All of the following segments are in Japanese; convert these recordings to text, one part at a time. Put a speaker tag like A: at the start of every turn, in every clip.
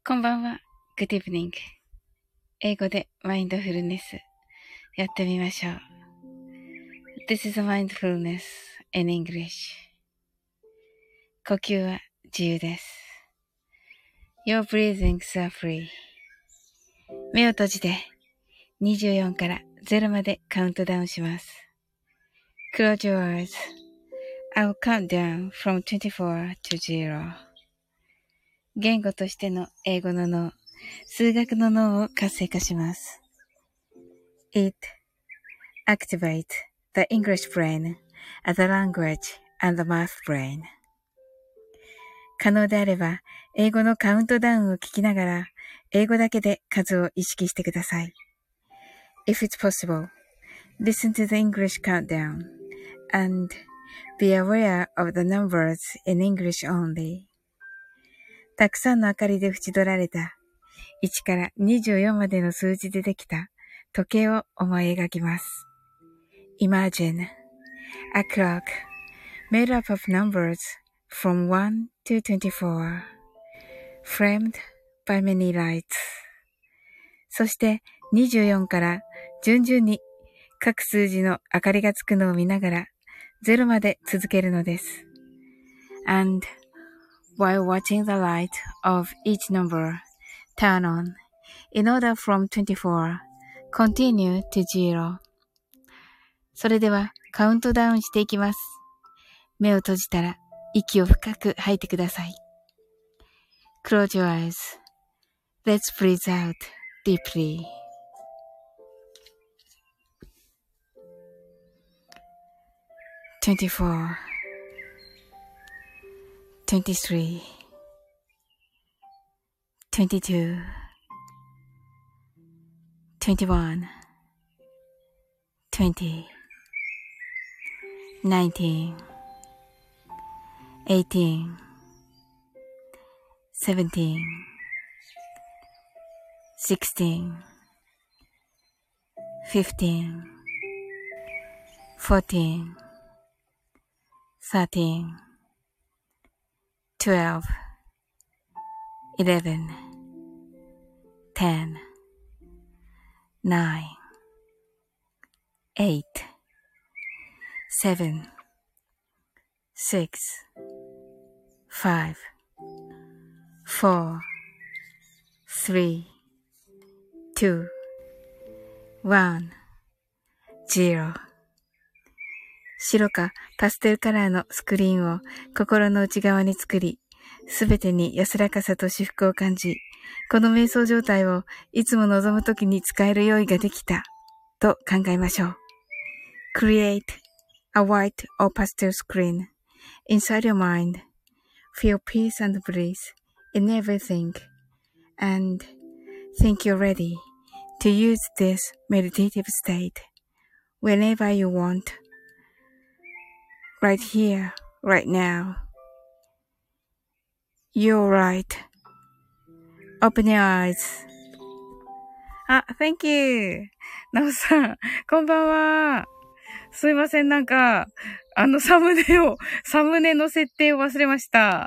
A: こんばんは。Good evening. 英語でマインドフルネスやってみましょう。This is a mindfulness in English. 呼吸は自由です。Your breathings are free. 目を閉じて24から0までカウントダウンします。Close your eyes. I'll count down from 24 to 0. 言語としての英語の脳、数学の脳を活性化します。It activates the English brain as a language and the math brain. 可能であれば、英語のカウントダウンを聞きながら、英語だけで数を意識してください。If it's possible, listen to the English countdown and be aware of the numbers in English only. たくさんの明かりで縁取られた1から24までの数字でできた時計を思い描きます。Imagine a clock made up of numbers from 1 to 24, framed by many lights. そして24から順々に各数字の明かりがつくのを見ながら0まで続けるのです。And while watching the light of each number turn on, in order from 24, continue to 0. それではカウントダウンしていきます。目を閉じたら息を深く吐いてください。Close your eyes. Let's breathe out deeply. 24, 23, 22, 21, 20, 19, 18, 17, 16, 15, 14, 13, 12, 11, 10, 9, 8, 7, 6, 5, 4, 3, 2, 1, 0. 白かパステルカラーのスクリーンを心の内側に作り、すべてに安らかさと至福を感じ、この瞑想状態をいつも望むときに使える用意ができたと考えましょう。Create a white or pastel screen inside your mind. Feel peace and bliss in everything and think you're ready to use this meditative state whenever you want. Right here, right now. You're right. Open your eyes. あ、Thank you. なおさん、こんばんは。すいません、サムネの設定を忘れました。はい。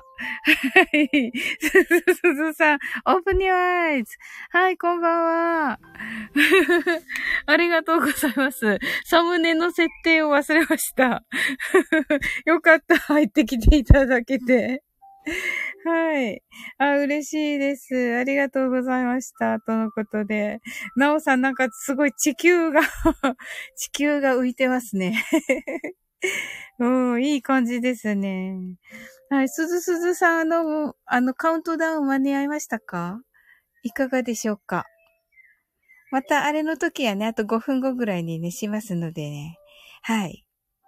A: すずさん、Open your eyes. はい、こんばんは。ありがとうございます。サムネの設定を忘れました。よかった、入ってきていただけて。はい。あ、嬉しいです。ありがとうございました。とのことで。なおさん、すごい地球が浮いてますね。うん、いい感じですね。はい。すずさん、カウントダウン間に合いましたか？いかがでしょうか？またあれの時はね、あと5分後ぐらいにね、しますのでね。はい。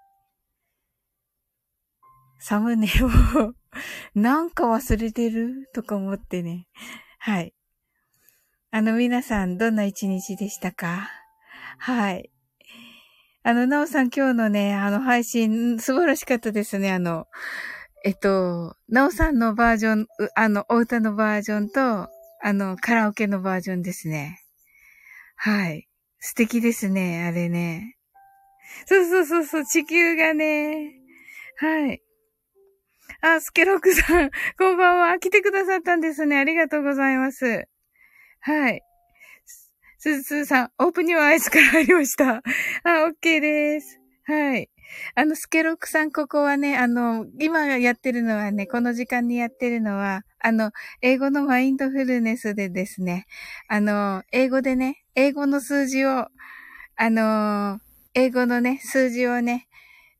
A: サムネを忘れてるとか思ってね。はい。皆さん、どんな一日でしたか？はい。なおさん今日のね、配信、素晴らしかったですね。なおさんのバージョン、お歌のバージョンと、カラオケのバージョンですね。はい。素敵ですね、あれね。そう、地球がね。はい。 あ、スケロックさん、こんばんは。来てくださったんですね。ありがとうございます。はい。すずすずさん、オープニューアイスから入りました。あ、OK です。はい。スケロックさん、ここはね、今やってるのはね、この時間にやってるのは、英語のマインドフルネスでですね、英語でね、英語の数字を、英語のね、数字をね、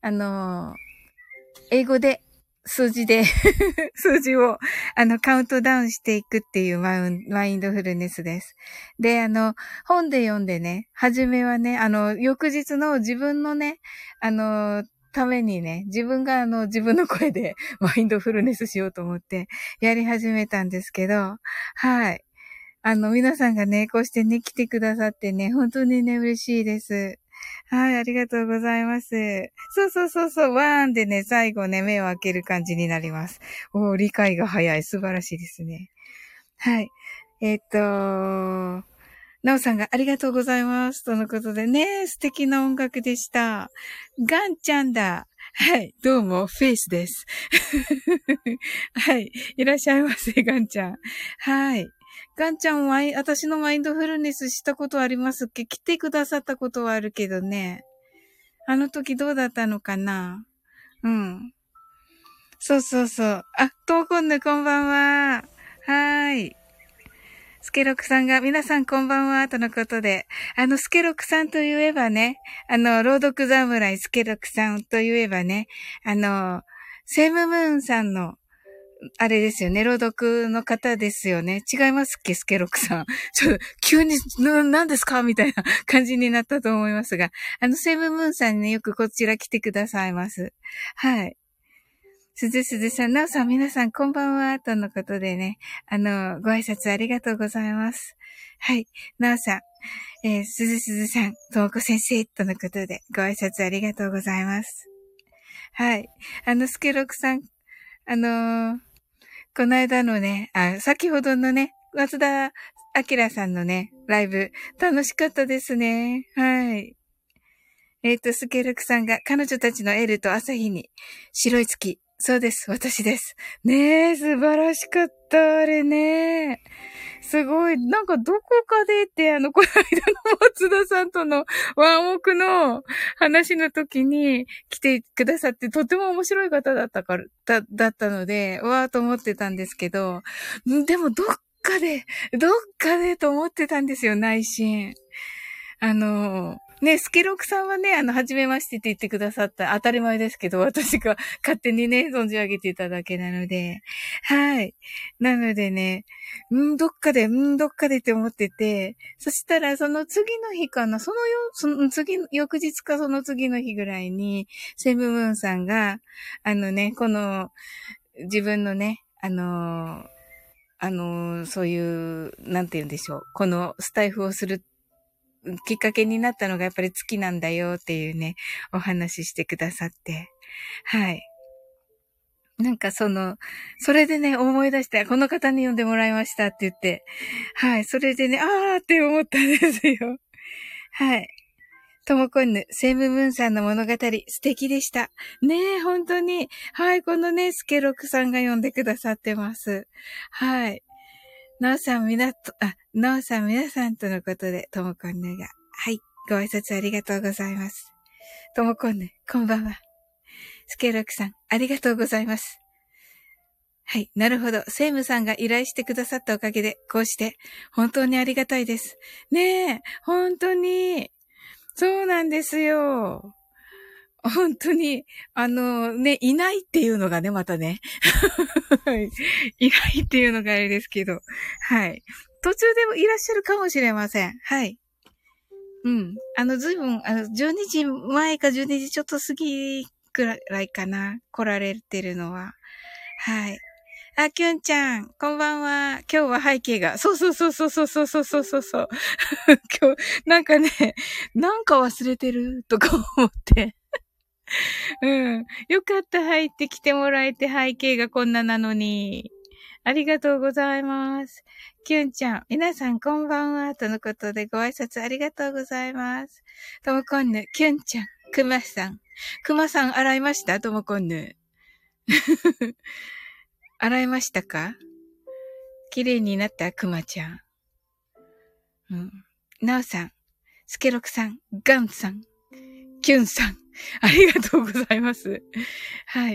A: 英語で、数字で数字を、カウントダウンしていくっていうマインドフルネスです。で、本で読んでね、初めはね、翌日の自分のね、ためにね、自分が自分の声でマインドフルネスしようと思ってやり始めたんですけど、はい。皆さんがね、こうしてね、来てくださってね、本当にね、嬉しいです。はい、ありがとうございます。そう、ワーンでね、最後ね、目を開ける感じになります。理解が早い。素晴らしいですね。はい。なおさんがありがとうございます。とのことでね、素敵な音楽でした。ガンちゃんだ。はい、どうも、フェイスです。はい、いらっしゃいませ、ガンちゃん。はい。ガンちゃんは、私のマインドフルネスしたことありますっけ？来てくださったことはあるけどね。あの時どうだったのかな？うん。そう。あ、トーコンヌこんばんは。はーい。スケロクさんが、皆さんこんばんは、とのことで。スケロクさんといえばね、朗読侍スケロクさんといえばね、セムムーンさんの、あれですよね、朗読の方ですよね。違いますっけ、スケロクさん。ちょっと、急に、何ですかみたいな感じになったと思いますが、セムムーンさんにね、よくこちら来てくださいます。はい。すずさん、なおさん、皆さん、こんばんは、とのことでね、ご挨拶ありがとうございます。はい。なおさん、すずさん、ともこ先生、とのことで、ご挨拶ありがとうございます。はい。スケロクさん、この間のね、先ほどのね、松田明さんのね、ライブ、楽しかったですね。はい。スケルクさんが彼女たちのエルと朝日に白い月。そうです。私です。ねえ、素晴らしかった。あれね。すごい。なんかどこかでって、この間の松田さんとのワンオクの話の時に来てくださって、とても面白い方だっただったので、わーと思ってたんですけど、でもどっかでと思ってたんですよ、内心。ね、スケロクさんはね、初めましてって言ってくださった当たり前ですけど、私が勝手にね、存じ上げていただけなので、はい。なのでね、どっかでって思ってて、そしたらその次の日かな、その翌日かその次の日ぐらいに、セムムーンさんが、この、自分のね、そういう、なんて言うんでしょう、このスタイフをするきっかけになったのがやっぱり月なんだよっていうね、お話ししてくださって。はい。なんかそれでね、思い出して、この方に呼んでもらいましたって言って、はい。それでね、ーって思ったんですよ。はい。ともこんぬ、セムムーンさんの物語、素敵でした。ねえ、本当に。はい、このね、スケロクさんが呼んでくださってます。はい。なおさん、皆さんとのことで、ともこんぬが。はい。ご挨拶ありがとうございます。ともこんぬ、こんばんは。スケロクさん、ありがとうございます。はい。なるほど。セイムさんが依頼してくださったおかげで、こうして、本当にありがたいです。ねえ、本当に。そうなんですよ。本当に、ね、いないっていうのがね、またね。いないっていうのがあれですけど。はい。途中でもいらっしゃるかもしれません。はい。うん。ずいぶん、12時前か12時ちょっと過ぎくらいかな。来られてるのは。はい。あ、きゅんちゃん、こんばんは。今日は背景が。そう。今日、なんかね、なんか忘れてるとか思って。うん。よかった、入ってきてもらえて背景がこんななのに。ありがとうございます。きゅんちゃん、皆さんこんばんは。とのことでご挨拶ありがとうございます。ともこんぬ、きゅんちゃん、くまさん。くまさん洗いましたともこんぬ。 洗いましたか？綺麗になったくまちゃん。うん。なおさん、スケロクさん、ガンさん、キュンさん、ありがとうございます。はい。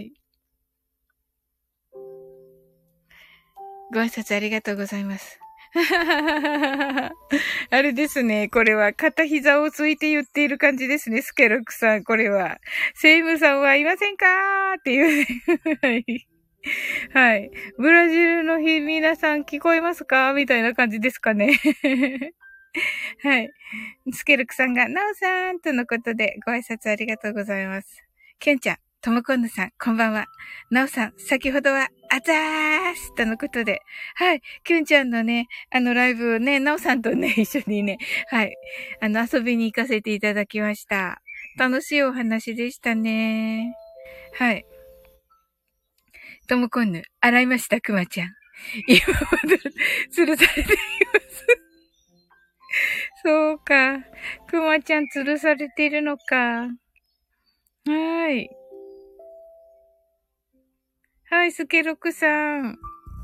A: ご挨拶ありがとうございます。あれですね。これは片膝をついて言っている感じですね。スケロクさん、これは。セイムさんはいませんかーっていうね。はい。はい。ブラジルの日、皆さん聞こえますかみたいな感じですかね。はい。スケルクさんが、ナオさんとのことで、ご挨拶ありがとうございます。ケンちゃん、ともこんぬさん、こんばんは。ナオさん、先ほどは、あざーすとのことで、はい。ケンちゃんのね、ライブをね、ナオさんとね、一緒にね、はい。遊びに行かせていただきました。楽しいお話でしたね。はい。ともこんぬ、洗いました、くまちゃん。今まで、吊るされています。そうか。くまちゃん吊るされているのか。はい。はい、スケロクさん。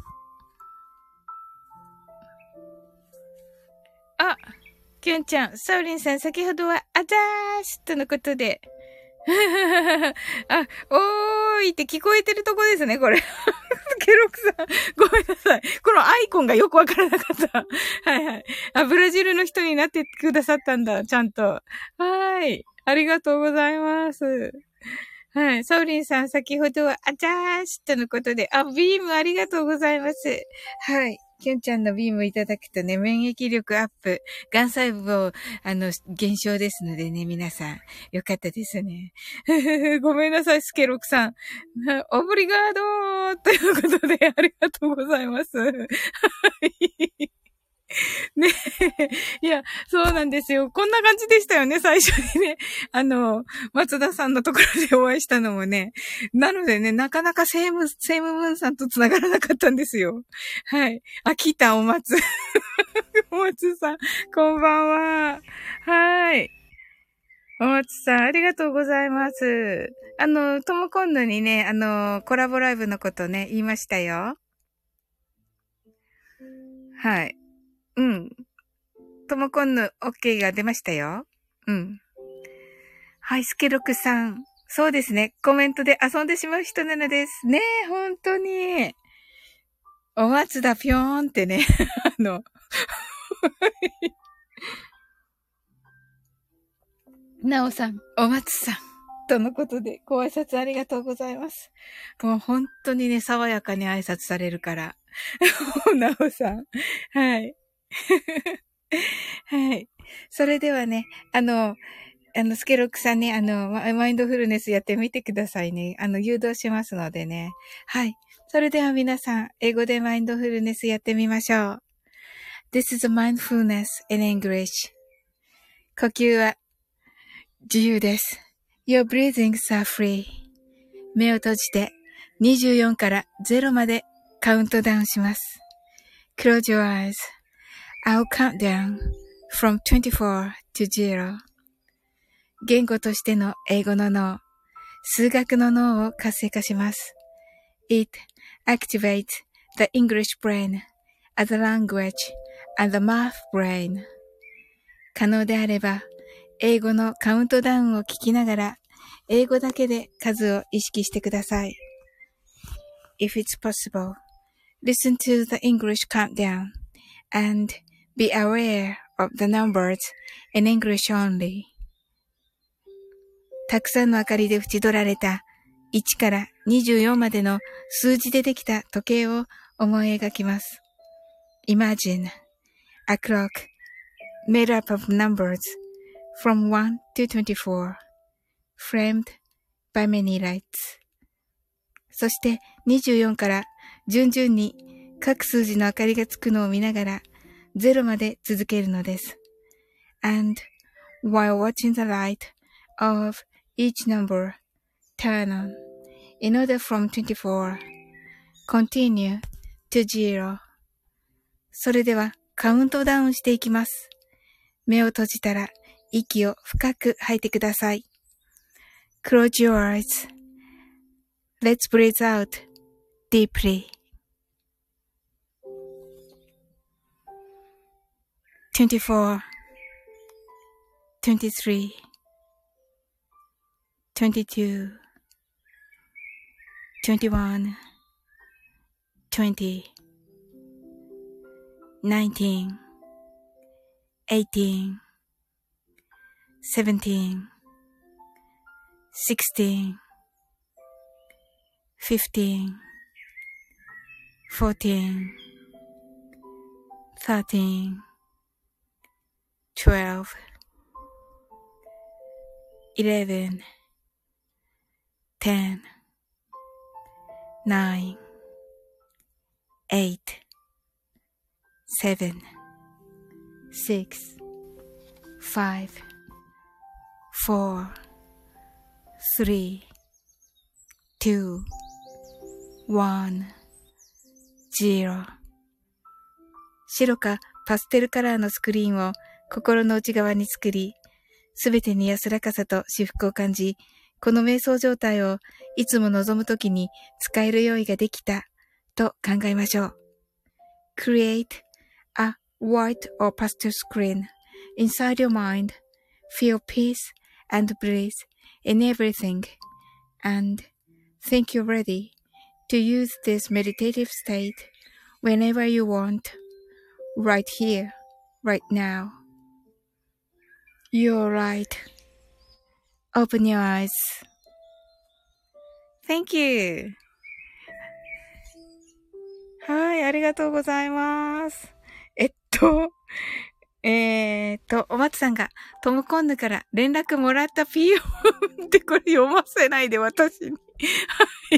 A: あ、キュンちゃん、サウリンさん、先ほどは、あざーしとのことで。あ、おーいって聞こえてるとこですね、これ。スケロクさん、ごめんなさい。このアイコンがよくわからなかった。はいはい。あ、ブラジルの人になってくださったんだ、ちゃんと。はーい。ありがとうございます。はい。サウリンさん、先ほどは、あざーしとのことで、あ、ビームありがとうございます。はい。キュンちゃんのビームいただくとね、免疫力アップ、癌細胞、減少ですのでね、皆さん、よかったですね。ごめんなさい、スケロクさん。オブリガードーということで、ありがとうございます。はい。ねえ。いや、そうなんですよ。こんな感じでしたよね、最初にね。松田さんのところでお会いしたのもね。なのでね、なかなかセイムムーンさんと繋がらなかったんですよ。はい。あ、来た、お松。お松さん、こんばんは。はい。お松さん、ありがとうございます。ともこんぬにね、コラボライブのことね、言いましたよ。はい。うん。ともこんぬ、OK が出ましたよ。うん。はい、スケロクさん。そうですね。コメントで遊んでしまう人なのです。ねえ、本当に。お松だぴょーんってね。なおさん、お松さん。とのことで、ご挨拶ありがとうございます。もう本当にね、爽やかに挨拶されるから。なおさん。はい。はい。それではね、スケロックさんね、マインドフルネスやってみてくださいね。誘導しますのでね。はい。それでは皆さん、英語でマインドフルネスやってみましょう。This is mindfulness in English. 呼吸は自由です。Your breathings are free. 目を閉じて24から0までカウントダウンします。Close your eyes. I'll count down from 24 to 0. 言語としての英語の脳、数学の脳を活性化します。It activates the English brain as a language and the math brain. 可能であれば、英語のカウントダウンを聞きながら、英語だけで数を意識してください。If it's possible, listen to the English countdown and be aware of the numbers in English only. たくさんの明かりで縁取られた1から24までの数字でできた時計を思い描きます。Imagine a clock made up of numbers from 1 to 24, framed by many lights. そして24から順々に各数字の明かりがつくのを見ながら0まで続けるのです。And while watching the light of each number turn on, in order from 24, continue to 0. それではカウントダウンしていきます。目を閉じたら息を深く吐いてください。Close your eyes Let's breathe out deeply. 24, 23, 22, 21, 20, 19, 18, 17, 16, 15, 14, 13, 12, 11, 10, 9, 8, 7, 6, 5, 4, 3, 2, 1, 0。白かパステルカラーのスクリーンを心の内側に作り、すべてに安らかさと至福を感じ、この瞑想状態をいつも望むときに使える用意ができたと考えましょう。Create a white or pastel screen inside your mind. Feel peace and bliss in everything. And think you're ready to use this meditative state whenever you want. Right here, right now. You're right. Open your eyes. Thank you. はい、ありがとうございます。お松さんが、トムコンヌから連絡もらったピヨーンってこれ読ませないで私に。はい。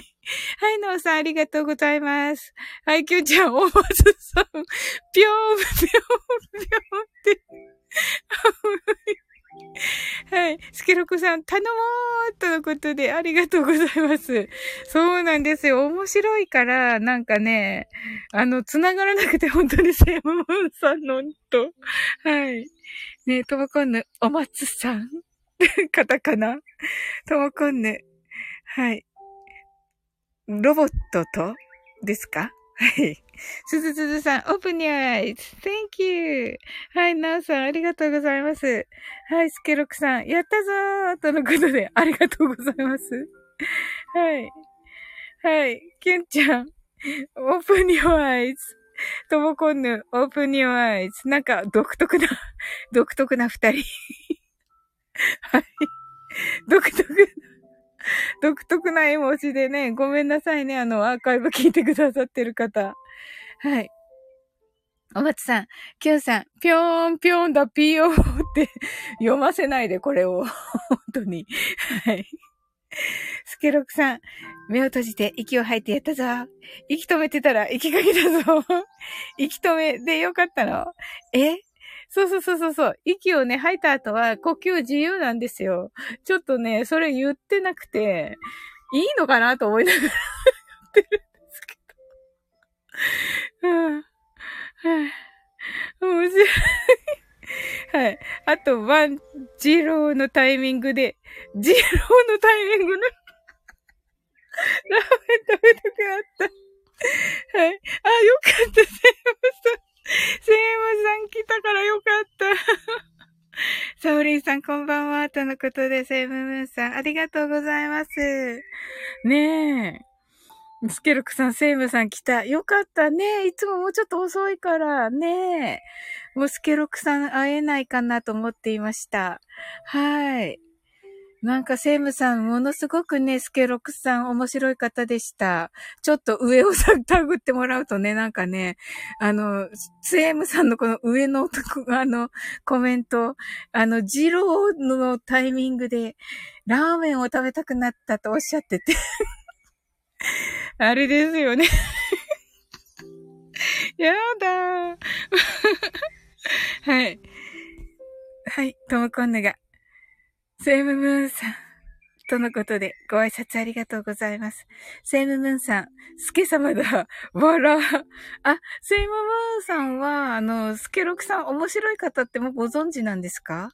A: はい、ノーさんありがとうございます。はい、キュンちゃん、お松さん、ぴょーん、ぴょーん、ぴょーんって。はい。スケロクさん、頼もーとのことでありがとうございます。そうなんですよ。面白いから、なんかね、繋がらなくて本当にセイムムーンさんのと。はい。ね、ともこんぬ、お松さんカタカナともこんぬ。はい。ロボットとですかはい。すずすずさん、open your eyes. Thank you. はい、なおさん、ありがとうございます。はい、スケロクさん、やったぞーとのことで、ありがとうございます。はい。はい、キュンちゃん、open your eyes. ともこんぬ、open your eyes. なんか、独特な二人。はい。独特な絵文字でね、ごめんなさいね、アーカイブ聞いてくださってる方。はい。お松さん、キュンさん、ぴょーんぴょんだぴよーって読ませないで、これを。本当に。はい。スケロクさん、目を閉じて息を吐いてやったぞ。息止めてたら息かけたぞ。息止めでよかったの？そう。息をね、吐いた後は呼吸自由なんですよ。ちょっとね、それ言ってなくて、いいのかなと思いながら言ってるんですけど。面白い。はい。あと、ジローのタイミングで、ラーメン食べたくなった。はい。あ、よかった、セイムさん来たからよかった。サオリンさんこんばんは、とのことで、セイムムーンさん、ありがとうございます。ねえ。スケルクさん、セイムさん来た。よかったね。いつももうちょっと遅いからね。もうスケロクさん会えないかなと思っていました。はい。なんかセイムさん、ものすごくね、スケロクさん面白い方でした。ちょっと上をタグってもらうとね、なんかね、セイムさんのこの上のコメント、ジローのタイミングで、ラーメンを食べたくなったとおっしゃってて。あれですよね。やだー。はい。はい、ともこんぬが。セイムムーンさん。とのことで、ご挨拶ありがとうございます。セイムムーンさん、スケ様だ。わら。あ、セイムムーンさんは、スケロクさん面白い方ってもうご存知なんですか？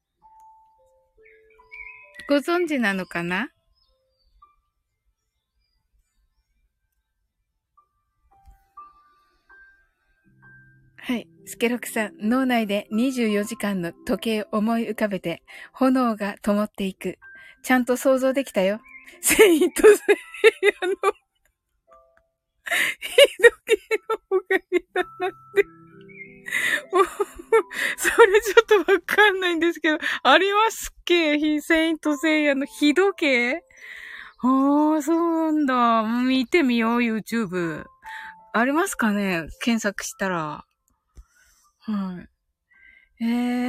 A: ご存知なのかな？ はい。スケロクさん、脳内で24時間の時計を思い浮かべて、炎が灯っていく。ちゃんと想像できたよ。セイントセイヤの日時計のおかげだなって。それちょっとわかんないんですけど、ありますっけ？セイントセイヤの日時計？ああ、そうなんだ。見てみよう、YouTube。ありますかね？検索したら。はい。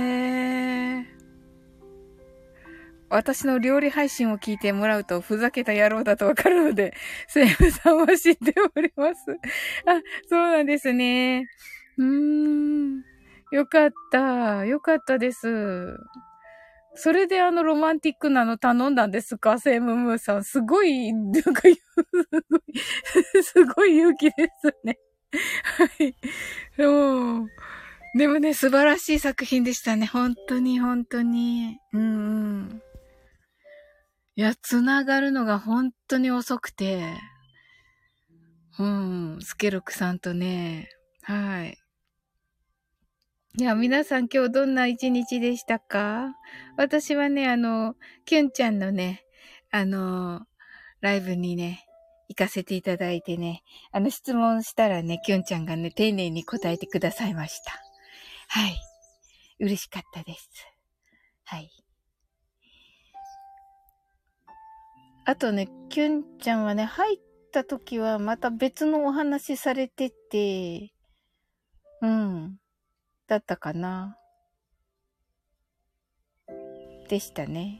A: 私の料理配信を聞いてもらうとふざけた野郎だとわかるので、セイムさんは知っております。あ、そうなんですね。よかった。よかったです。それでロマンティックなの頼んだんですか？セイムムーさん。すごい、なんか、すごい勇気ですね。はい。うん。でもね、素晴らしい作品でしたね。本当に、本当に。うん。いや、つながるのが本当に遅くて。うん。スケロクさんとね。はい。いや、皆さん今日どんな一日でしたか？私はね、キュンちゃんのね、ライブにね、行かせていただいてね、質問したらね、キュンちゃんがね、丁寧に答えてくださいました。はい。嬉しかったです。はい。あとね、キュンちゃんはね、入った時はまた別のお話されてて、うん、だったかな。でしたね。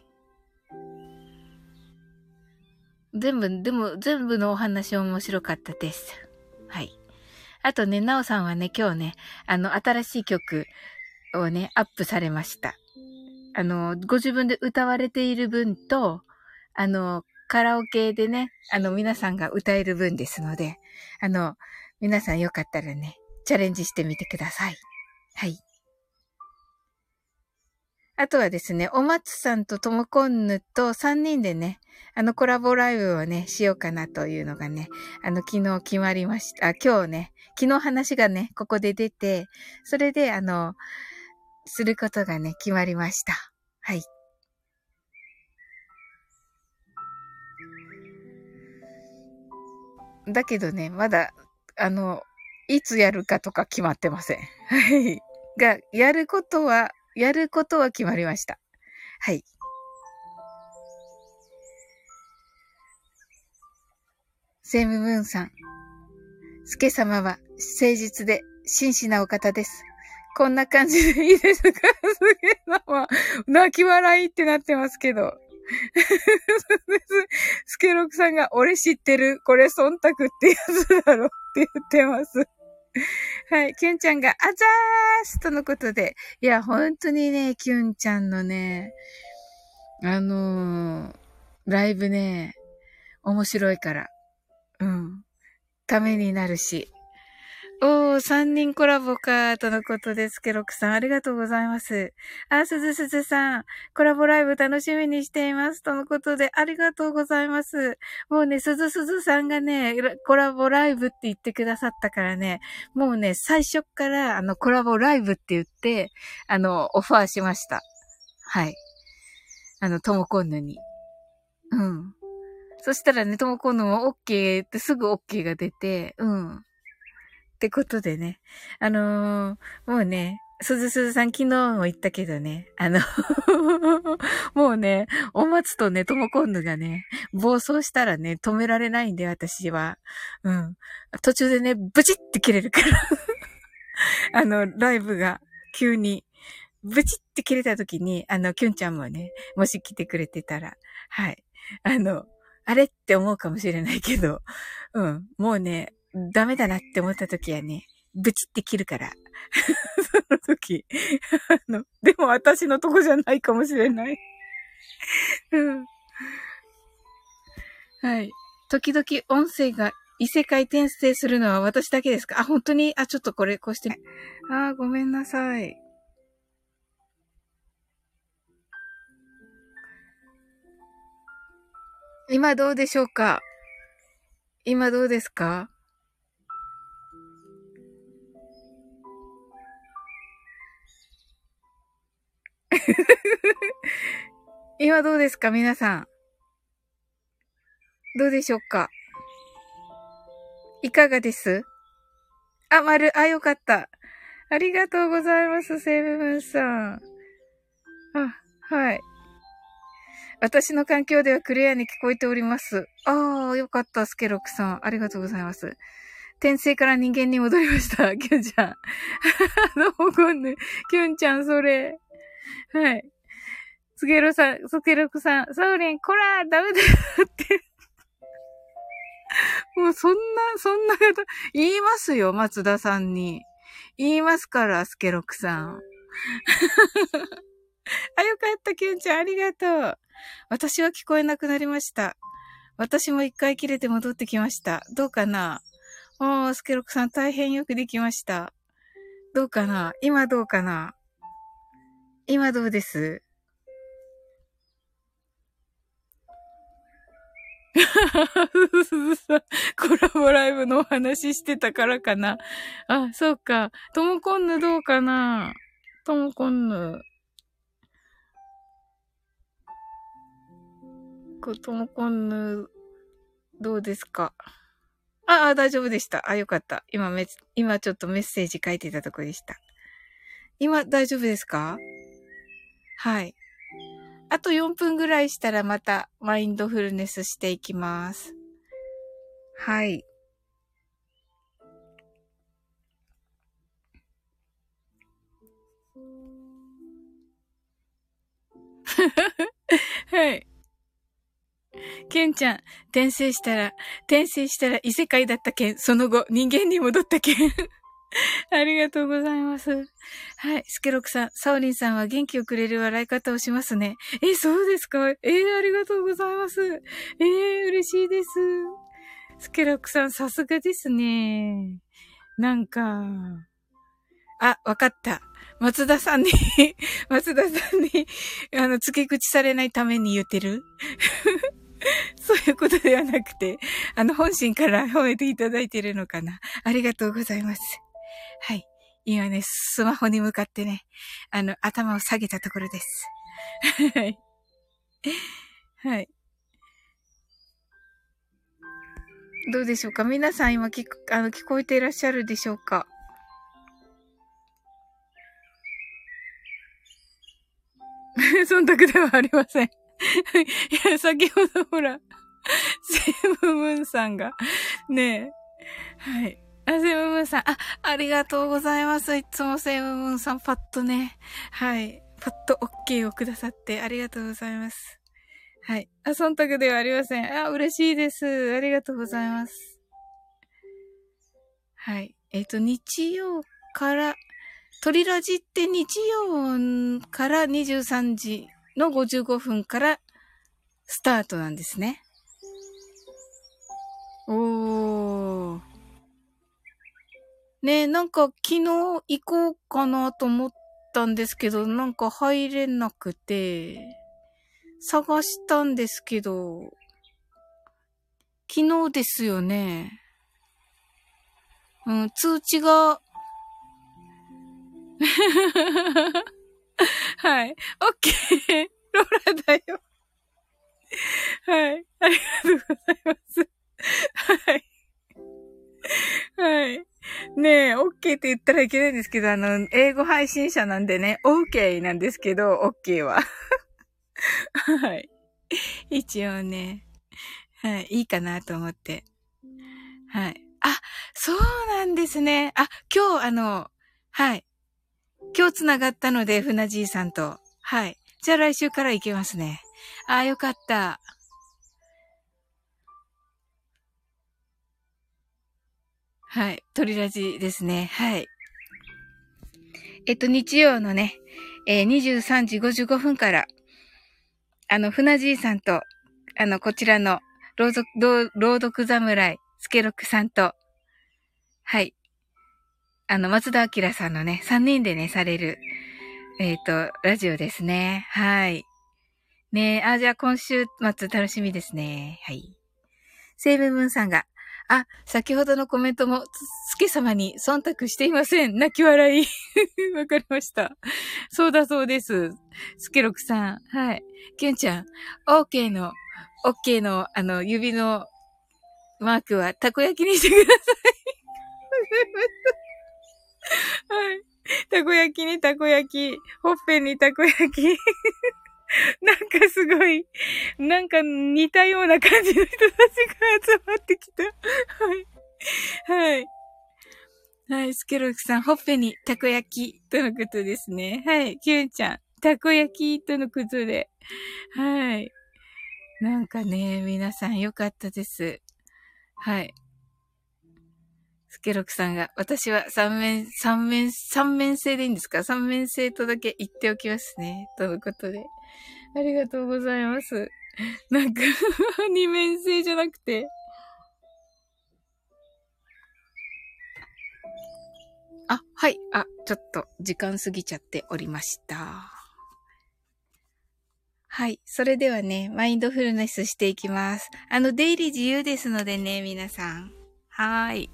A: でも全部のお話面白かったです。はい。あとね、なおさんはね、今日ね、新しい曲をね、アップされました。ご自分で歌われている分と、カラオケでね、皆さんが歌える分ですので、皆さんよかったらね、チャレンジしてみてください。はい。あとはですね、お松さんとともこんぬと3人でね、コラボライブをね、しようかなというのがね、昨日決まりました。今日ね、昨日話がね、ここで出て、それで、することがね、決まりました。はい。だけどね、まだ、いつやるかとか決まってません。はい。が、やることは決まりました。はい。セイムムーンさん。スケ様は誠実で真摯なお方です。こんな感じでいいですか？スケ様。泣き笑いってなってますけど。スケロクさんが、俺知ってる。これ忖度ってやつだろって言ってます。はい。キュンちゃんが、あざーすとのことで。いや、本当にね、キュンちゃんのね、ライブね、面白いから。うん。ためになるし。おー、3人コラボか、とのことです。ケロクさん、ありがとうございます。あ、すずさん、コラボライブ楽しみにしています。とのことで、ありがとうございます。もうね、すずさんがね、コラボライブって言ってくださったからね、もうね、最初から、コラボライブって言って、オファーしました。はい。ともこんぬに。うん。そしたらね、ともこんぬも OK ってすぐ OK が出て、うん。ってことでね。もうね、すずさん昨日も言ったけどね、もうね、お松とね、ともこんぬがね、暴走したらね、止められないんで、私は。うん。途中でね、ブチって切れるからライブが急に、ブチって切れた時に、キュンちゃんもね、もし来てくれてたら、はい。あれって思うかもしれないけど、うん。もうね、ダメだなって思った時はね、ブチって切るから。その時。でも私のとこじゃないかもしれない。うん。はい。時々音声が異世界転生するのは私だけですか？あ、本当に？あ、ちょっとこれ、こうして。あ、ごめんなさい。今どうでしょうか？今どうですか？ 今どうですか皆さん。どうでしょうか。いかがです？あ、よかった。ありがとうございます、セイブムーンさん。はい。私の環境ではクリアに聞こえております。よかった、スケロクさん。ありがとうございます。転生から人間に戻りました、キュンちゃん。どうもこんね。キュンちゃん、それ。はい。スケロクさん、サウリン、こらダメだよって。もうそんな方、言いますよ、松田さんに。言いますから、スケロクさん。よかった、キュンちゃん、ありがとう。私は聞こえなくなりました。私も一回切れて戻ってきました。どうかな？スケロクさん大変よくできました。どうかな？今どうかな？今どうです？コラボライブのお話してたからかな。そうか。ともこんぬどうかな？ともこんぬ。ともこんぬ、どうですか？大丈夫でした。よかった。今ちょっとメッセージ書いてたとこでした。今大丈夫ですか？はい。あと4分ぐらいしたらまたマインドフルネスしていきます。はい。はい。ケンちゃん、転生したら異世界だったけん、その後人間に戻ったけん。ありがとうございます。はい。スケロクさん、サオリンさんは元気をくれる笑い方をしますね。そうですか？ありがとうございます。嬉しいです。スケロクさん、さすがですね。なんか、わかった。松田さんに付け口されないために言ってるそういうことではなくて、本心から褒めていただいているのかな。ありがとうございます。はい。今ね、スマホに向かってね、頭を下げたところです。はい。はい。どうでしょうか？皆さん今聞こえていらっしゃるでしょうか？忖度ではありません。いや、先ほどほら、セムムーンさんが、ねえ、はい。セムムーンさん、ありがとうございます。いつもセムムーンさん、パッとね、はい。パッと OK をくださってありがとうございます。はい。忖度ではありません。嬉しいです。ありがとうございます。はい。日曜から、トリラジって日曜から23時の55分からスタートなんですね。おー。ね、なんか昨日行こうかなと思ったんですけど、なんか入れなくて、探したんですけど、昨日ですよね。通知がはい。オッケー。ローラだよ。はい。ありがとうございます。はい。はい。ねえ、オッケーって言ったらいけないんですけど、英語配信者なんでね、オーケーなんですけど、オッケーは。はい。一応ね、はい。いいかなと思って。はい。そうなんですね。今日はい。今日繋がったので、船じいさんと。はい。じゃあ来週から行けますね。よかった。はい。鳥ラジですね。はい。日曜のね、23時55分から、船じいさんと、こちらの、朗読侍、スケロクさんと、はい。松田明さんのね、3人でね、される、ラジオですね。はい。ねじゃあ今週末楽しみですね。はい。セイブムーンさんが、 あ、先ほどのコメントも、つけ様に忖度していません。泣き笑い。わかりました。そうだそうです。スケロクさん。はい。キュンちゃん。OK の、指のマークは、たこ焼きにしてください。はい。たこ焼きにたこ焼き。ほっぺにたこ焼き。なんかすごい、なんか似たような感じの人たちが集まってきた。はい。はい。はい。スケロクさん、ほっぺにたこ焼きとのことですね。はい。キュンちゃん、たこ焼きとのことで。はい。なんかね、皆さんよかったです。はい。スケロクさんが、私は三面性でいいんですか？三面性とだけ言っておきますね。とのことで。ありがとうございます。なんか二面性じゃなくて。あ、はい。あ、ちょっと時間過ぎちゃっておりました。はい。それではね、マインドフルネスしていきます。出入り自由ですのでね、皆さん。はーい。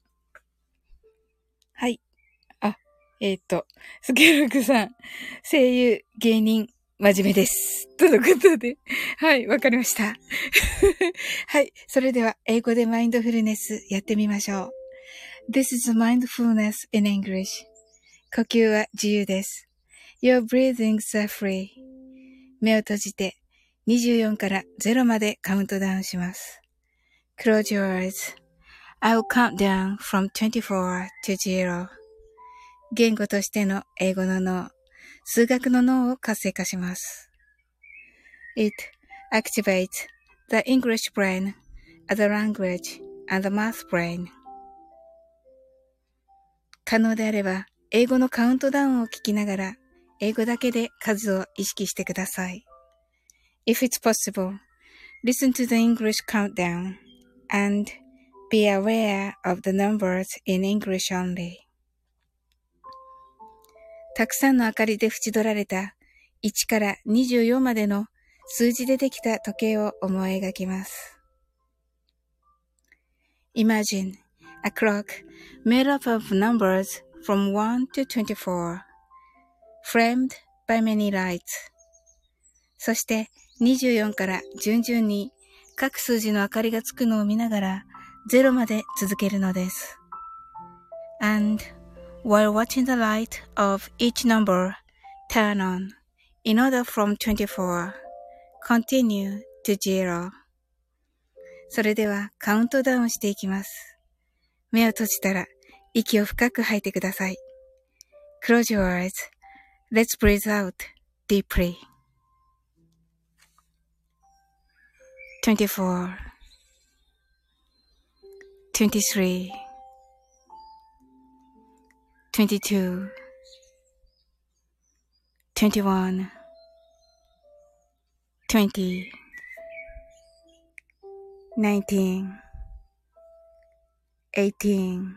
A: はい。あ、スケルクさん、声優、芸人、真面目です。とのことで。はい、わかりました。はい。それでは、英語でマインドフルネスやってみましょう。This is mindfulness in English. 呼吸は自由です。Your breathings are free. 目を閉じて24から0までカウントダウンします。Close your eyes.I will count down from 24 to 0. 言語としての英語の脳、数学の脳を活性化します。It activates the English brain, the language, and the math brain. 可能であれば、英語のカウントダウンを聞きながら、英語だけで数を意識してください。If it's possible, listen to the English countdown and be aware of the numbers in English only. たくさんの明かりで縁取られた1から24までの数字でできた時計を思い描きます。Imagine a clock made up of numbers from 1 to 24, framed by many lights. そして24から順々に各数字の明かりがつくのを見ながら0まで続けるのです。And while watching the light of each number turn on, in order from 24, continue to 0. それではカウントダウンしていきます。目を閉じたら息を深く吐いてください。Close your eyes. Let's breathe out deeply. 24, 23, 22, 21, 20, 19, 18,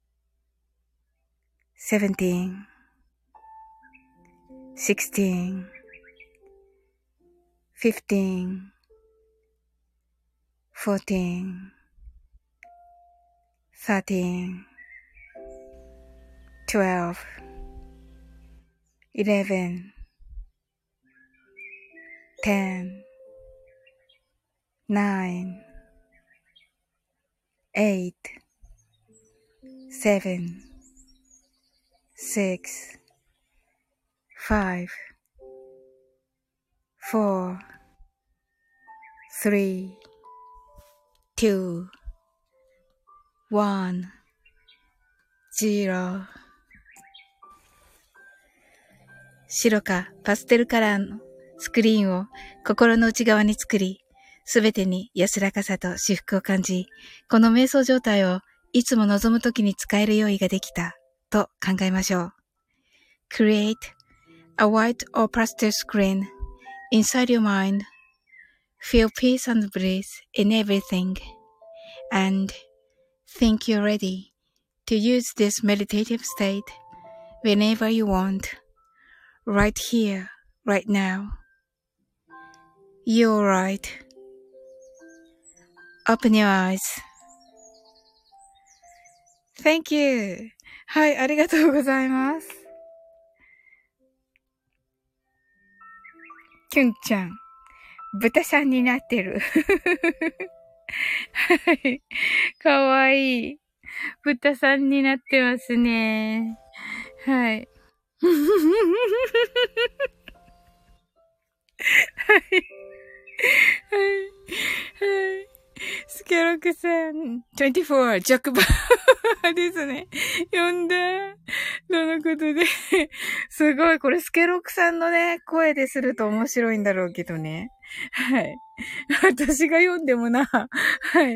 A: 17, 16, 15, 14, 13, 12, 11, 10, 9, 8, 7, 6, 5, 4, 3, 2, 1, 0. 白かパステルカラーのスクリーンを心の内側に作り、すべてに安らかさと至福を感じ、この瞑想状態をいつも望むときに使える用意ができたと考えましょう。Create a white or pastel screen inside your mind. Feel peace and bliss in everything. And think you're ready to use this meditative state whenever you want.Right here, right now. You're right. Open your eyes. Thank you. はい、ありがとうございます。キュンちゃん、豚さんになってる。はい。かわいい。豚さんになってますね。はい。はい。はい。はい。スケロクさん、24、ジャックバーですね。呼んだ。とのことで、すごい、これスケロクさんのね、声ですると面白いんだろうけどね。はい。私が読んでもな。はい。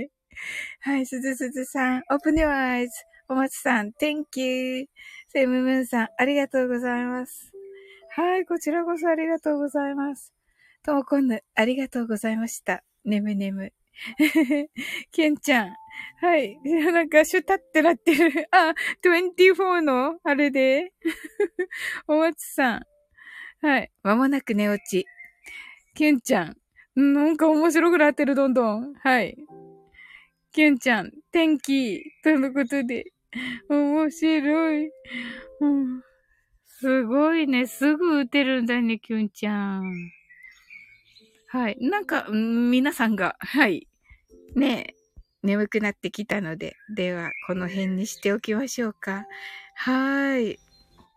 A: はい、すずすずさん、open your eyes. お松さん、thank you. セムムーンさん、ありがとうございます。はい、こちらこそありがとうございます。ともこんぬ、ありがとうございました。ねむねむ。けんちゃん。はい。なんか、シュタってなってる。あ、24のあれで。お松さん。はい。まもなく寝落ち。けんちゃん。なんか面白くなってる、どんどん。はい。けんちゃん。天気。とのことで。面白い。うん、すごいね。すぐ打てるんだね、きゅんちゃん。はい。なんか、皆さんが、はい。ねえ、眠くなってきたので、では、この辺にしておきましょうか。はーい。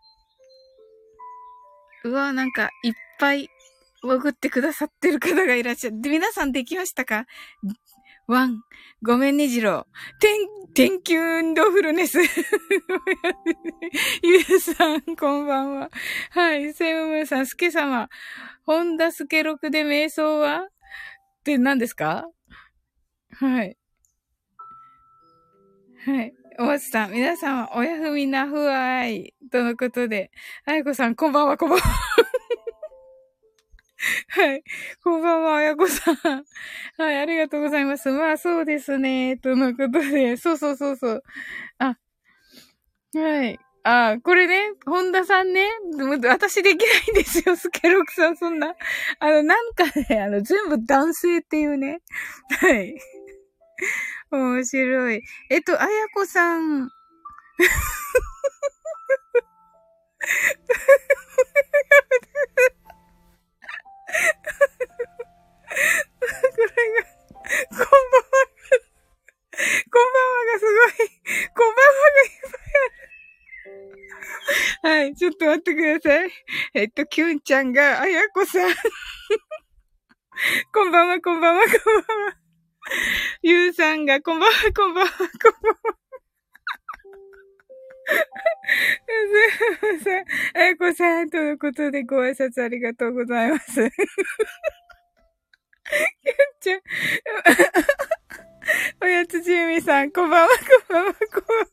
A: うわ、なんか、いっぱい、潜ってくださってる方がいらっしゃる。で、皆さんできましたか？ワン。ごめんね、ジロー。天気運動フルネス。ゆうさん、こんばんは。はい、セムムーさん、スケ様。ホンダスケロクで瞑想はって何ですか？はい。はい。お松さん、皆様、おやふみなふわい。とのことで。あやこさん、こんばんは、こんばんは。はい。こんばんは、あやこさん。はい、ありがとうございます。まあ、そうですね。とのことで。そうそうそうそう。あ、はい。あ、これね、本田さんね、私できないんですよ、スケロクさん、そんな。なんかね、全部男性っていうね。はい。面白い。あやこさん。これが、こんばんは。こんばんはがすごい。こんばんはがいっぱいある。はい、ちょっと待ってください。キュンちゃんが、あやこさん。こんばんは、こんばんは、こんばんは。ゆうさんが、こんばんは、こんばんは、こんばんは。すいません。あやこさんとのことでご挨拶ありがとうございます。キュンちゃん。おやつじゅうみさん、こんばんは、こんばんは、こんばんは。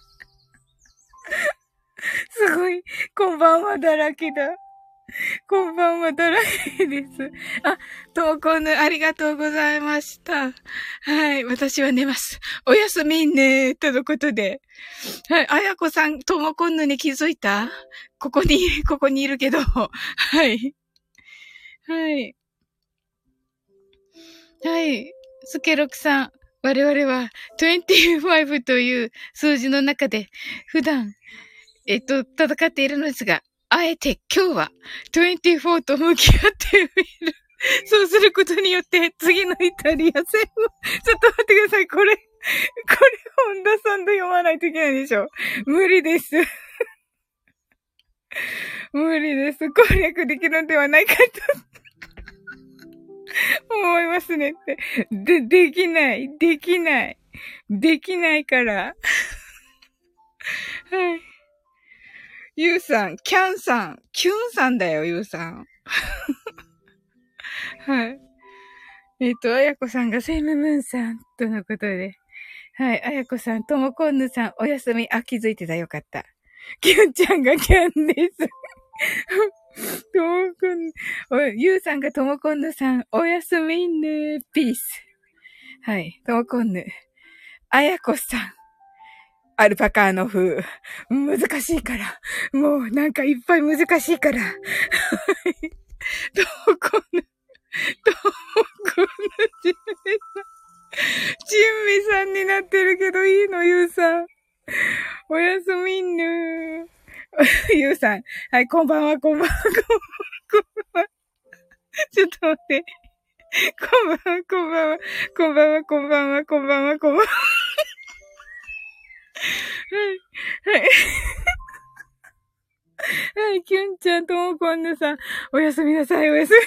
A: すごい、こんばんはだらけだ。こんばんはだらけです。あ、ともこんぬ、ありがとうございました。はい、私は寝ます。おやすみね、とのことで。はい、あやこさん、ともこんぬに気づいた？ここにいるけど。はい。はい。はい。スケロクさん、我々は25という数字の中で普段、戦っているのですが、あえて今日は24と向き合ってみる。そうすることによって、次のイタリア戦を、ちょっと待ってください。これ、本田さんと読まないといけないでしょ。無理です。無理です。攻略できるのではないかと思いますねって。できない。できない。できないから。はい。ゆうさん、キャンさん、キュンさんだよ、ゆうさん。はい。あやこさんがセイムムーンさん、とのことで。はい。あやこさん、ともこんぬさん、おやすみ。あ、気づいてた。よかった。キュンちゃんがキャンです。ともこん、ゆうさんがともこんぬさん、おやすみね。ピース。はい。ともこんぬ。あやこさん。アルパカの風。難しいから。もうなんかいっぱい難しいから。はい。どこの、どこのジンミさんになってるけどいいの、ゆうさん。 おやすみんぬー。ゆうさん。はい、こんばんは、こんばんは、こんばんは。こんばんは。ちょっと待って。こんばんは、こんばんは。こんばんは、こんばんは、こんばんは、こんばんは。はい、はい。はい、キュンちゃんともこんぬさん。おやすみなさい、おやす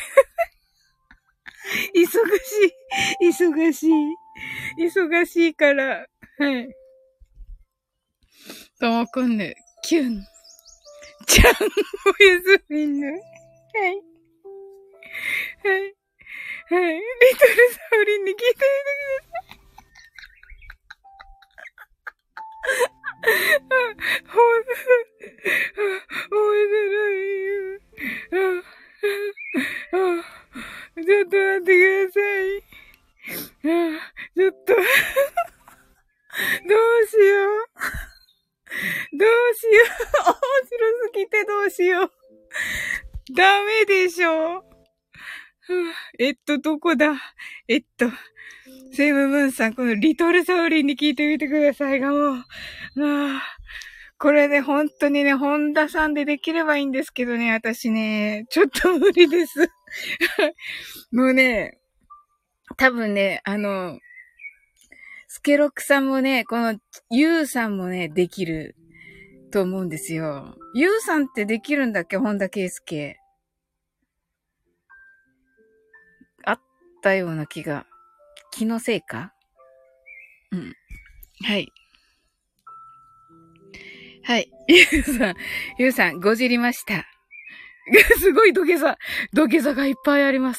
A: み。忙しい。忙しい。忙しいから。はい。ともこんぬ、キュン。ちゃん、おやすみぬ。はい。はい。はい。リトルサウリンに聞いてみてください。ほんと、面白いよ。ちょっと待ってください。ちょっと、どうしよう。どうしよう。面白すぎてどうしよう。ダメでしょ。どこだセムムーンさん、このリトルサウリンに聞いてみてくださいが、もう、これね、本当にね、本田さんでできればいいんですけどね、私ね、ちょっと無理です。もうね、多分ね、スケロクさんもね、このユウさんもね、できると思うんですよ。ユウさんってできるんだっけ、本田圭佑。あったような気が。気のせいか？うん。はい。はい。ゆうさん、ごじりました。すごい土下座がいっぱいあります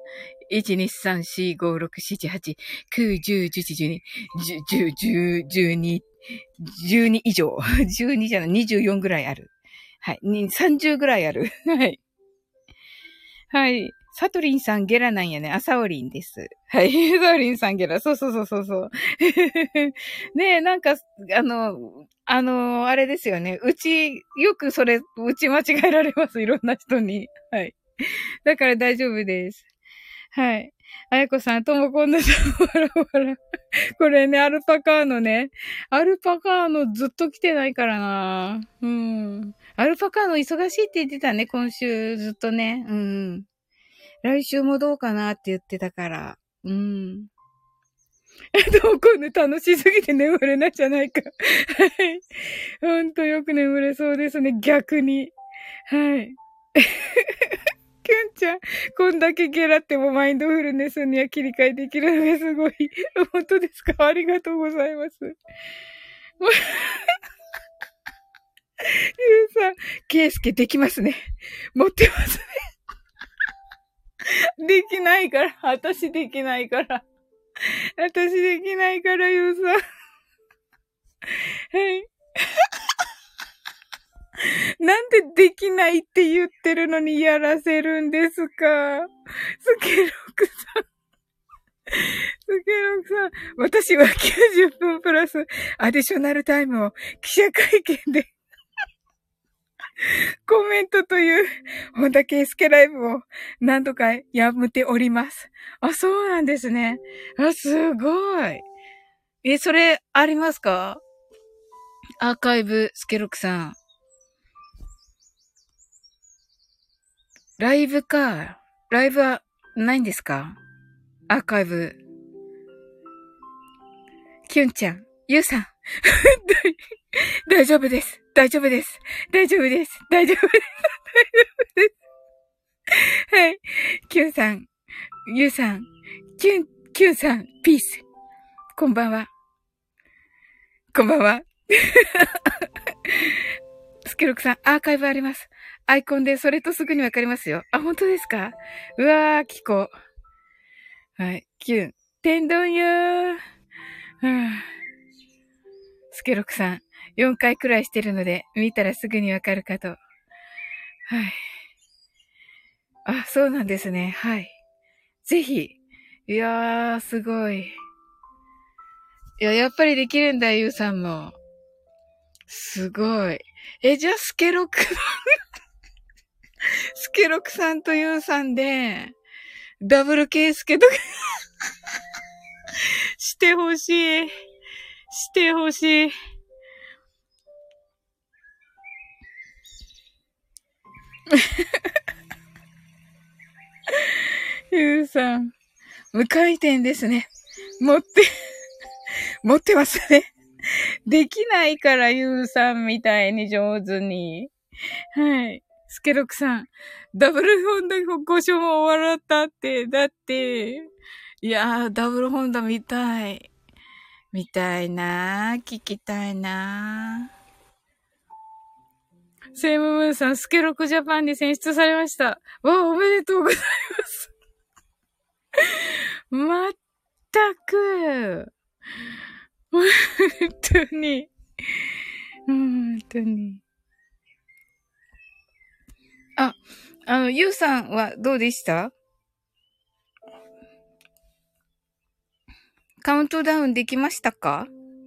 A: 。1、2、3、4、5、6、7、8、9、10、11、12、10、10、12以上。12じゃない、24ぐらいある。はい。30ぐらいある。はい。はい。サトリンさんゲラなんやね。あ、サオリンです。はい。サオリンさんゲラ。そうそうそうそうそう。ねえ、なんか、あれですよね。よくうち間違えられます。いろんな人に。はい。だから大丈夫です。はい。あやこさん、ともこんなさん、わらわら。これね、アルパカーノね。アルパカーノずっと来てないからな。うん。アルパカーノ忙しいって言ってたね、今週ずっとね。うん。来週もどうかなって言ってたから。うん。でも今度楽しすぎて眠れないじゃないか。はい。ほんとよく眠れそうですね、逆に。はい。キュンちゃん、こんだけゲラってもマインドフルネスには切り替えできるのがすごい。本当ですか？ありがとうございます。ゆうさん、ケイスケできますね。持ってますね。できないから。私できないから。私できないから、ゆうさん。はい。なんでできないって言ってるのにやらせるんですか？スケロクさん。スケロクさん。私は90分プラスアディショナルタイムを記者会見でコメントという本田圭佑ライブを何度かやめております。あ、そうなんですね。あ、すごい。それありますか？アーカイブ、スケロクさん。ライブか。ライブはないんですか？アーカイブ。キュンちゃん。ゆうさん。大丈夫です。大丈夫です。大丈夫です。大丈夫です。大丈夫です。はい。キュンさん。ゆうさん。キュンさん。ピース。こんばんは。こんばんは。スケロクさん、アーカイブあります。アイコンでそれとすぐにわかりますよ。あ、本当ですか？うわー、キコ。はい。キュン。天丼よー。スケロクさん、4回くらいしてるので、見たらすぐにわかるかと。はい。あ、そうなんですね。はい。ぜひ。いやー、すごい。いや、やっぱりできるんだ、ゆうさんも。すごい。じゃあ、スケロクスケロクさんとユウさんで、ダブルケイスケとかしてほしい。してほしい。 ゆうさん、無回転ですね。持ってますね。できないから、ゆうさんみたいに上手に。はい。スケロクさん、ダブルホンダご所も笑ったって、だって、いやー、ダブルホンダ見たい。見たいなー、聞きたいなー。セイムムーンさん、スケロクジャパンに選出されました。わあ、おめでとうございます。まったく。本当に。本当に。あ、ゆうさんはどうでした？カウントダウンできましたか？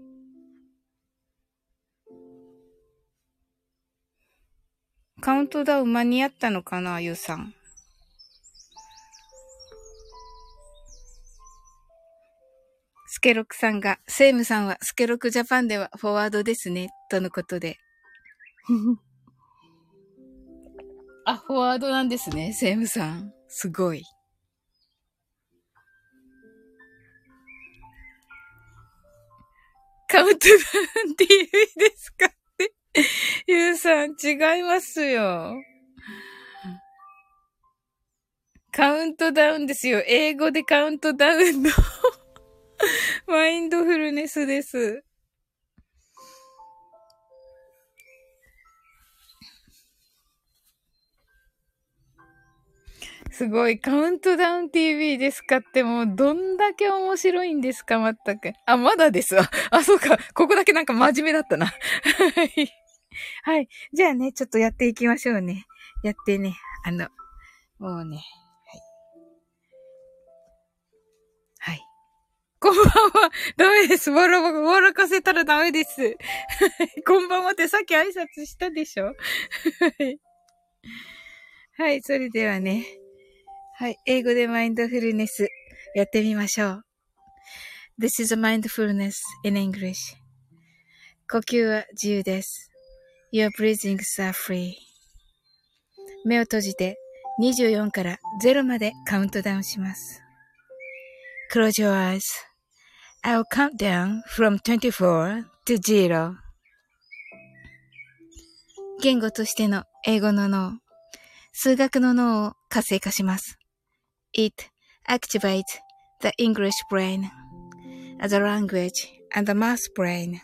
A: カウントダウン間に合ったのかな、ゆうさん。スケロクさんが、セイムさんはスケロクジャパンではフォワードですね、とのことで。あ、フォワードなんですね、セイムさん。すごい。カウントダウン TV ですかって。ゆうさん、違いますよ。カウントダウンですよ。英語でカウントダウンのマインドフルネスです。すごい。カウントダウン TV ですかってもうどんだけ面白いんですかまったく。あ、まだですわ。あ、そうか。ここだけなんか真面目だったな。はい。はい。じゃあね、ちょっとやっていきましょうね。やってね。もうね。はい。こんばんは。ダメです。笑かせたらダメです。こんばんはってさっき挨拶したでしょ？はい。はい。それではね。はい。英語でマインドフルネスやってみましょう。This is a mindfulness in English. 呼吸は自由です。Your breathings are free. 目を閉じて24から0までカウントダウンします。Close your eyes.I'll count down from 24 to 0. 言語としての英語の脳、数学の脳を活性化します。It activates the English brain as a language and the math brain.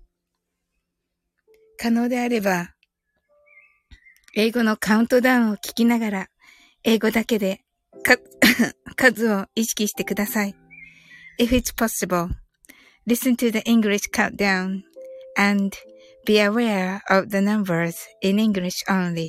A: 可能であれば、英語のカウントダウンを聞きながら、英語だけで数を意識してください。If it's possible.Listen to the English countdown and be aware of the numbers in English only.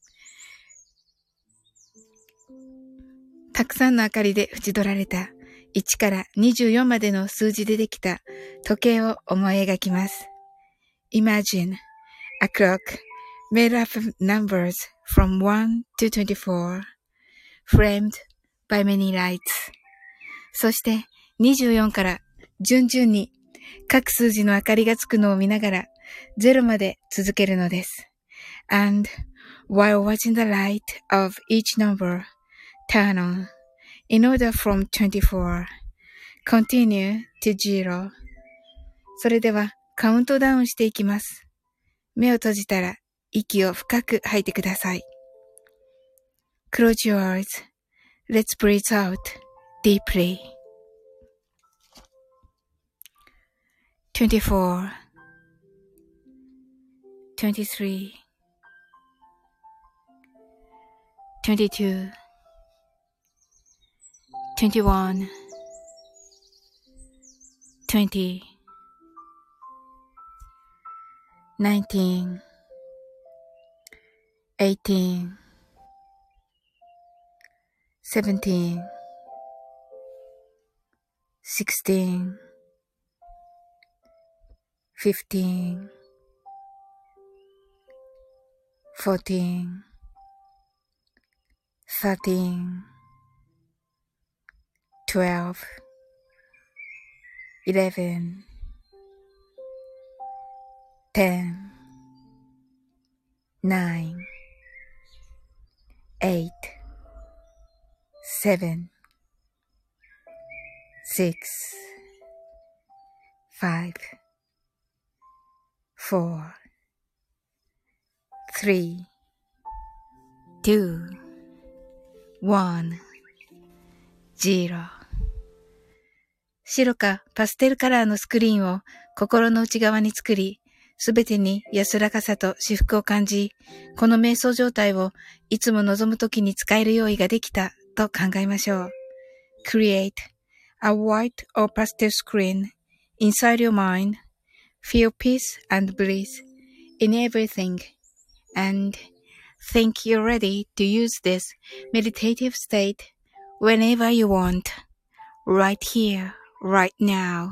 A: たくさんの明かりで縁取られた1から24までの数字でできた時計を思い描きます。Imagine a clock made up of numbers from 1 to 24, framed by many lights. そして24から順々に各数字の明かりがつくのを見ながら0まで続けるのです。And while watching the light of each number turn on in order from 24, continue to 0. それではカウントダウンしていきます。目を閉じたら息を深く吐いてください。Close your eyes. Let's breathe out deeply.24 23 22 21 20 19 18 17 16 15 14 13 12 11 10 9 8, 7, 6, 5, 4, 3, 2, 1, 0。白かパステルカラーのスクリーンを心の内側に作り、すべてに安らかさと至福を感じ、この瞑想状態をいつも望むときに使える用意ができたと考えましょう。Create a white or pastel screen inside your mind. Feel peace and bliss in everything. And think you're ready to use this meditative state whenever you want. Right here, right now.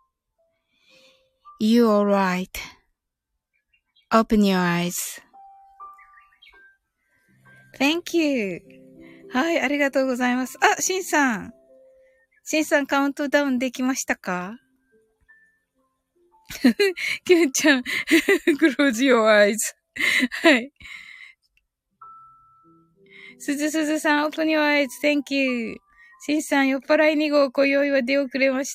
A: You're right.Open your eyes. Thank you. はい、ありがとうございます。あ、シンさん。シンさんカウントダウンできましたか？キュンちゃん、close your eyes. はい。すずすずさん、open your eyes. Thank you. シンさん、酔っ払い2号、今宵は出遅れました。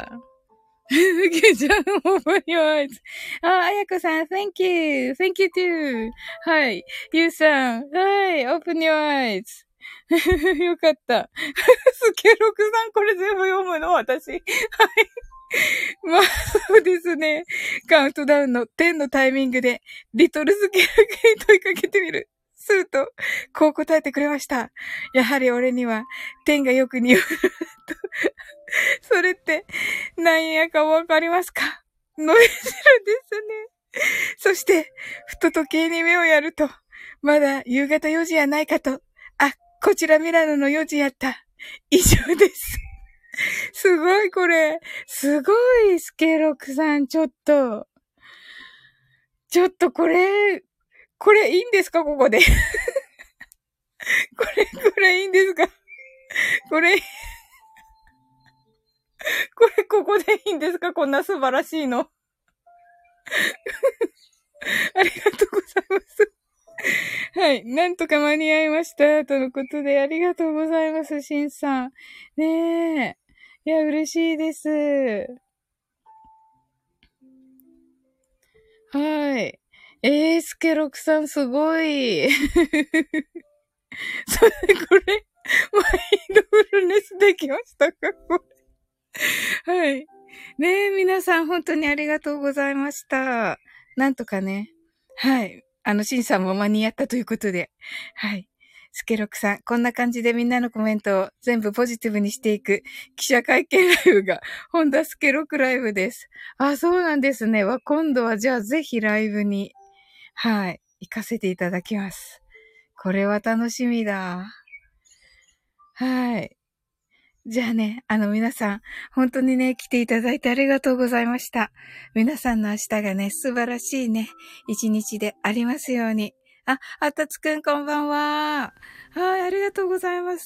A: キュンちゃん、open your eyes. あやこさん、thank you. Thank you too. はい。ゆうさん、はい。open your eyes. よかった。スケロクさん、これ全部読むの私。はい。まあ、そうですね。カウントダウンの10のタイミングで、リトルスケロクに問いかけてみる。すると、こう答えてくれました。やはり俺には、10がよく似合う。それって、何やかわかりますか？ノイズルですね。そして、ふと時計に目をやると、まだ夕方4時やないかと。あ、こちらミラノの4時やった。以上です。すごいこれ。すごい、スケロクさん、ちょっとこれいいんですかここで。これいいんですかこれ、ここでいいんですかこんな素晴らしいの。ありがとうございます。はい。なんとか間に合いました。とのことで、ありがとうございます、しんさん。ねえ。いや、嬉しいです。はい。スケロクさんすごい。それ、これ、マインドフルネスできましたかこれ。はい。ねえ、皆さん本当にありがとうございました。なんとかね。はい。シンさんも間に合ったということで。はい。スケロクさん、こんな感じでみんなのコメントを全部ポジティブにしていく記者会見ライブが、ホンダスケロクライブです。あ、そうなんですね。今度はじゃあぜひライブに、はい、行かせていただきます。これは楽しみだ。はい。じゃあね、皆さん、本当にね、来ていただいてありがとうございました。皆さんの明日がね、素晴らしいね、一日でありますように。あ、あったつくんこんばんは。はい、ありがとうございます。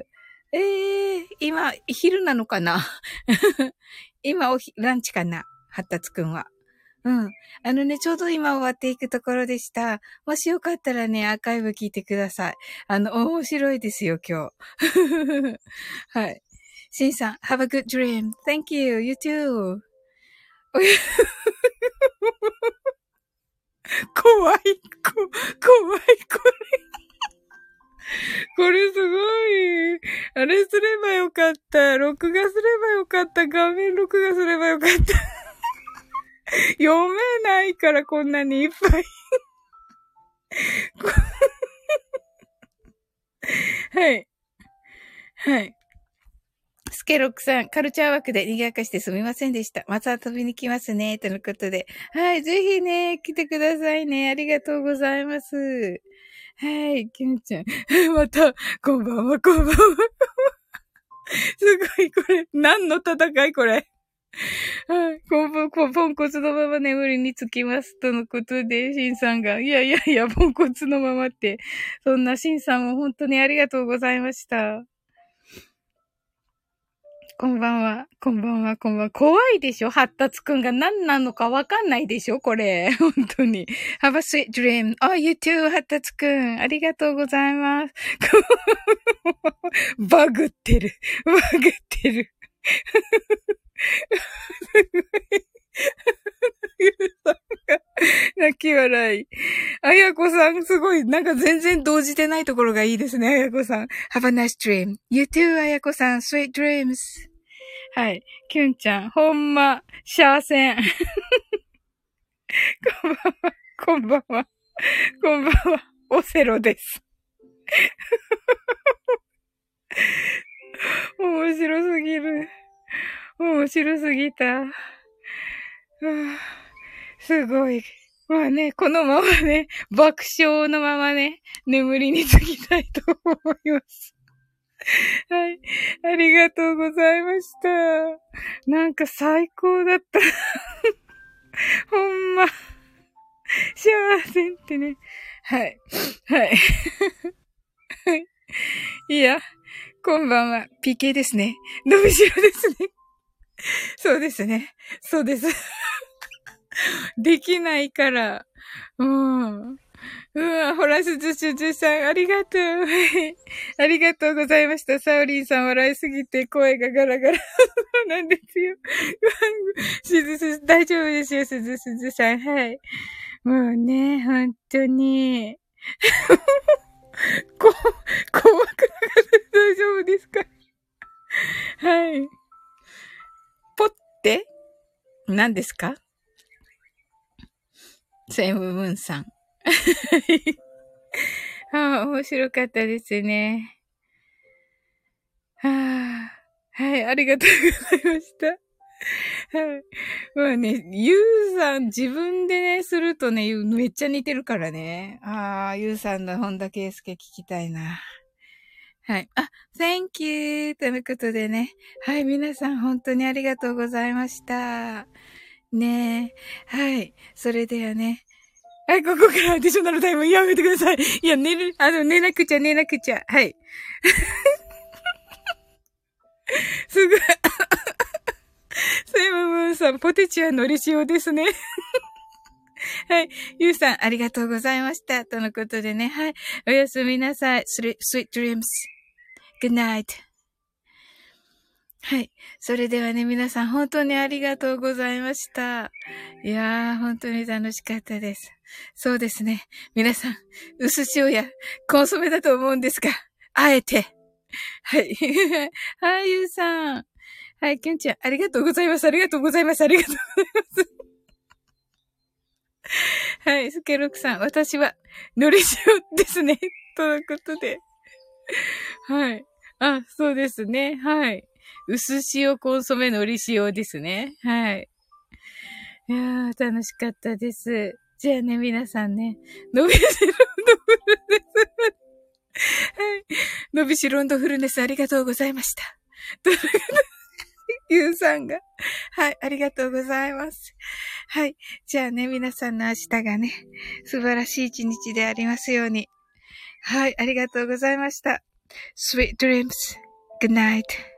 A: 今、昼なのかな今、ランチかなはったつくんは。うん。ちょうど今終わっていくところでした。もしよかったらね、アーカイブ聞いてください。面白いですよ、今日。はい。シンさん、have a good dream. Thank you. You too. 怖い、怖い、これ。これすごい。あれすればよかった。録画すればよかった。画面録画すればよかった。読めないからこんなにいっぱい。はい。はい。スケロックさん、カルチャー枠で賑やかしてすみませんでした。また遊びに来ますね。とのことで。はい。ぜひね、来てくださいね。ありがとうございます。はい。キュンちゃん。また、こんばんは、こんばんは。すごい、これ。何の戦いこれ。はい。ポンコツのまま眠りにつきます。とのことで、シンさんが、いや、ポンコツのままって。そんなシンさんも本当にありがとうございました。 こんばんは。こんばんは。こんばんは。怖いでしょ発達くんが何なのかわかんないでしょこれ。本当に。Have a sweet dream. Oh, you too, 発達くん。ありがとうございます。バグってる。バグってる。泣き笑い。あやこさん、すごい、なんか全然動じてないところがいいですね、あやこさん。Have a nice dream. You too, あやこさん。Sweet dreams. はい。きゅんちゃん、ほんま、シャーセン。こんばんは、こんばんは、こんばんは、オセロです。面白すぎる。面白すぎた。すごい。まあね、このままね、爆笑のままね、眠りにつきたいと思います。はい。ありがとうございました。なんか最高だった。ほんま。幸せってね。はい。はい。はい。いや、こんばんは。PK ですね。伸びしろですね。そうですね。そうです。できないから。うん。うわ、ほら、すずさん、ありがとう。ありがとうございました。サオリンさん笑いすぎて声がガラガラなんですよ。大丈夫ですよ、すずさん。はい。もうね、本当に。怖くなかった大丈夫ですか？はい。ポって何ですか？セムムーンさん。ああ、面白かったですね。はあ、はい、ありがとうございました。はい。まあね、ゆうさん自分でね、するとね、めっちゃ似てるからね。ああ、ゆうさんの本田圭佑聞きたいな。はい。あ、thank you! ということでね。はい、皆さん本当にありがとうございました。ねえ。はい。それではね。はい、ここからアディショナルタイムやめてください。いや、寝なくちゃ。はい。すぐ、セイムムーンさん、ポテチはのり塩ですね。はい。ゆうさん、ありがとうございました。とのことでね。はい。おやすみなさい。sweet dreams.Good night. はい。それではね、皆さん本当にありがとうございました。いやー、本当に楽しかったです。そうですね。皆さん、薄塩やコンソメだと思うんですが、あえて。はい。はい、ゆうさん。はい、きゅんちゃん、ありがとうございます。ありがとうございます。ありがとうございます。はい、スケロクさん、私は、のり塩ですね。とのことで。はい。あ、そうですね。はい。薄塩コンソメのり塩ですね。はい。いやー、楽しかったです。じゃあね、皆さんね、伸びしろンドフルネス。はい。伸びしろンドフルネスありがとうございました。ゆうさんが。はい、ありがとうございます。はい。じゃあね、皆さんの明日がね、素晴らしい一日でありますように。はい、ありがとうございました。Sweet dreams. Good night.